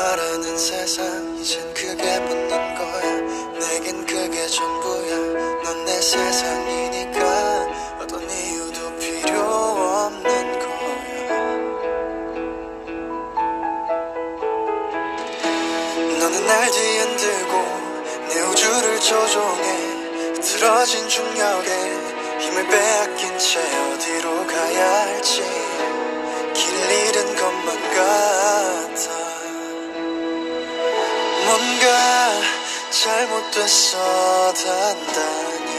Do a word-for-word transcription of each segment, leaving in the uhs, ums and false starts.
바라는 세상 이젠 그게 묻는 거야. 내겐 그게 전부야. 넌 내 세상이니까 어떤 이유도 필요 없는 거야. 너는 날 뒤흔들고 내 우주를 조종해. 틀어진 중력에 힘을 빼앗긴 채 어디로 가야 할지 길 잃은 것만 같아. 뭔가 잘못됐어 단단히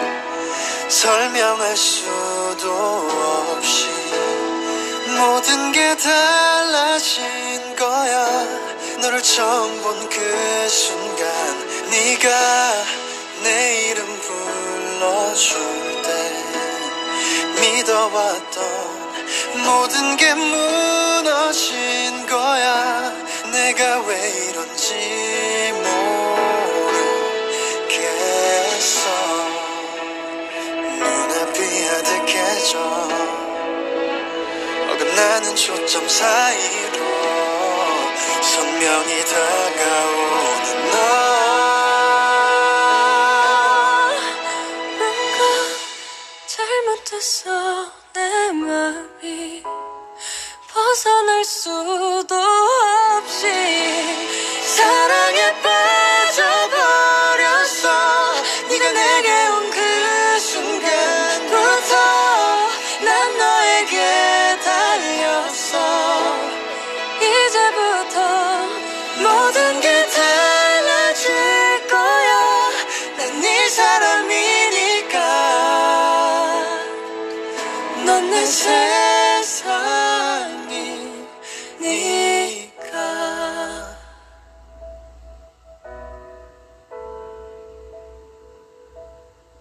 설명할 수도 없이 모든 게 달라진 거야. 너를 처음 본 그 순간 네가 내 이름 불러줄 때 믿어왔던 모든 게 무너진 거야. 내가 왜 이런지 모르겠어. 눈앞이 아득해져 어긋나는 초점 사이로 선명히 다가오는 너. 뭔가 잘못했어. 내 맘이 벗어날 수